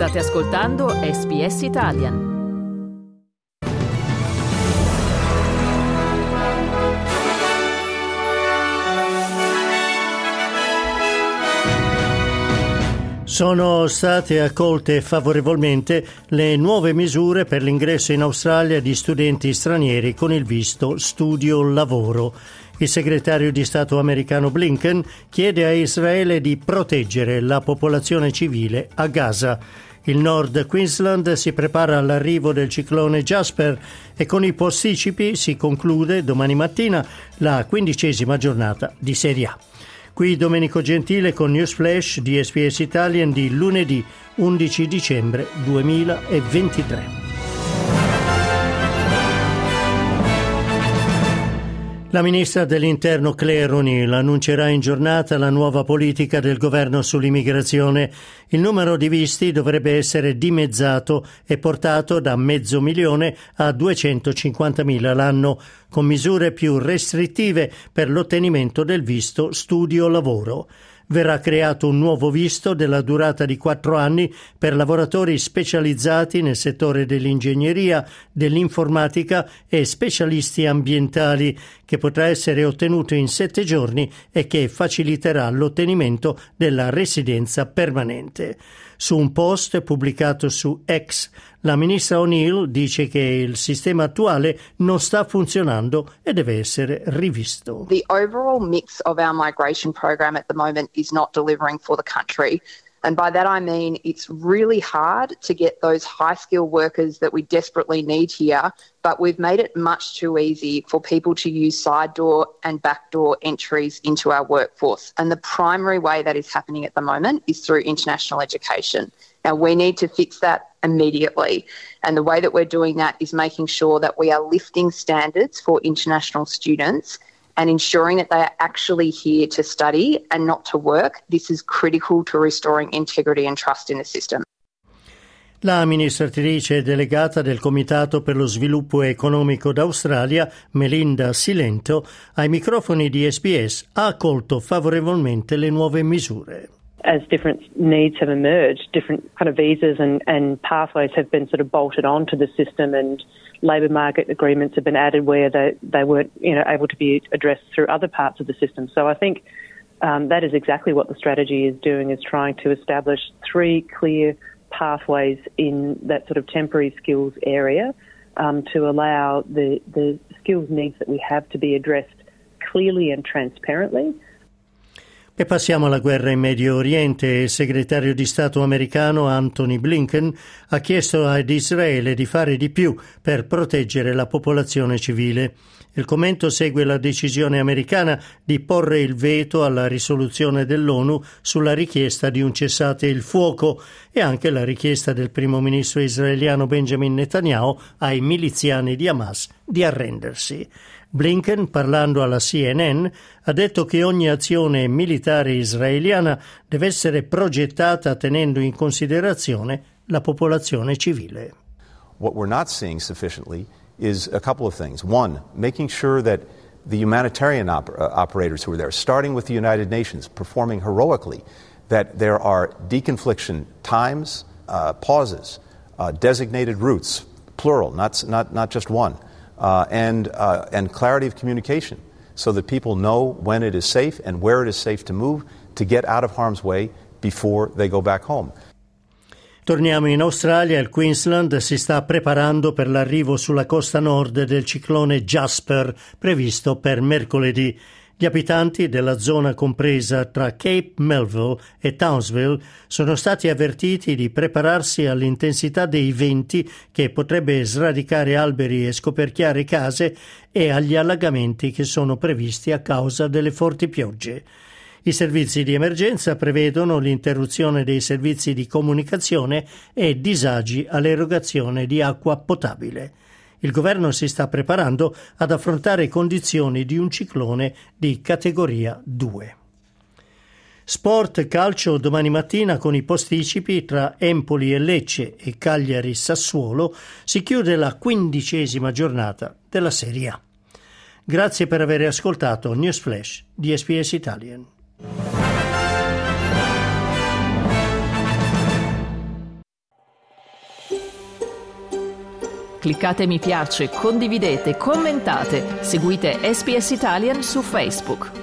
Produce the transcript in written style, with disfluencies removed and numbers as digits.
State ascoltando SBS Italian. Sono state accolte favorevolmente le nuove misure per l'ingresso in Australia di studenti stranieri con il visto studio-lavoro. Il segretario di Stato americano Blinken chiede a Israele di proteggere la popolazione civile a Gaza. Il Nord Queensland si prepara all'arrivo del ciclone Jasper e con i posticipi si conclude domani mattina la 15ª giornata di Serie A. Qui Domenico Gentile con News Flash di SBS Italian di lunedì 11 dicembre 2023. La ministra dell'Interno Claire O'Neill annuncerà in giornata la nuova politica del governo sull'immigrazione. Il numero di visti dovrebbe essere dimezzato e portato da 500.000 a 250.000 l'anno, con misure più restrittive per l'ottenimento del visto studio-lavoro. Verrà creato un nuovo visto della durata di 4 anni per lavoratori specializzati nel settore dell'ingegneria, dell'informatica e specialisti ambientali, che potrà essere ottenuto in 7 giorni e che faciliterà l'ottenimento della residenza permanente. Su un post pubblicato su X, la ministra O'Neill dice che il sistema attuale non sta funzionando e deve essere rivisto. The overall mix of our migration program at the moment is not delivering for the country. And by that I mean it's really hard to get those high-skilled workers that we desperately need here, but we've made it much too easy for people to use side door and backdoor entries into our workforce. And the primary way that is happening at the moment is through international education. Now, we need to fix that immediately. And the way that we're doing that is making sure that we are lifting standards for international students and ensuring that they are actually here to study and not to work. This is critical to restoring integrity and trust in the system. La amministratrice delegata del Comitato per lo Sviluppo Economico d'Australia, Melinda Silento, ai microfoni di SBS ha accolto favorevolmente le nuove misure. As different needs have emerged, different kind of visas and pathways have been sort of bolted onto the system, and labour market agreements have been added where they weren't, able to be addressed through other parts of the system. So I think that is exactly what the strategy is doing, is trying to establish 3 clear pathways in that sort of temporary skills area to allow the skills needs that we have to be addressed clearly and transparently. E passiamo alla guerra in Medio Oriente. Il segretario di Stato americano Antony Blinken ha chiesto ad Israele di fare di più per proteggere la popolazione civile. Il commento segue la decisione americana di porre il veto alla risoluzione dell'ONU sulla richiesta di un cessate il fuoco e anche la richiesta del primo ministro israeliano Benjamin Netanyahu ai miliziani di Hamas di arrendersi. Blinken, parlando alla CNN, ha detto che ogni azione militare israeliana deve essere progettata tenendo in considerazione la popolazione civile. What we're not seeing sufficiently is a couple of things. One, making sure that the humanitarian operators who are there, starting with the United Nations, performing heroically, that there are deconfliction times, pauses, designated routes, plural, not just one. And clarity of communication so that people know when it is safe and where it is safe to move to get out of harm's way before they go back home. Torniamo in Australia. Il Queensland si sta preparando per l'arrivo sulla costa nord del ciclone Jasper, previsto per mercoledì. Gli abitanti della zona compresa tra Cape Melville e Townsville sono stati avvertiti di prepararsi all'intensità dei venti che potrebbe sradicare alberi e scoperchiare case e agli allagamenti che sono previsti a causa delle forti piogge. I servizi di emergenza prevedono l'interruzione dei servizi di comunicazione e disagi all'erogazione di acqua potabile. Il governo si sta preparando ad affrontare condizioni di un ciclone di categoria 2. Sport calcio domani mattina con i posticipi tra Empoli e Lecce e Cagliari Sassuolo si chiude la 15ª giornata della Serie A. Grazie per aver ascoltato News Flash di SBS Italian. cliccate mi piace, condividete, commentate, seguite SBS Italian su Facebook.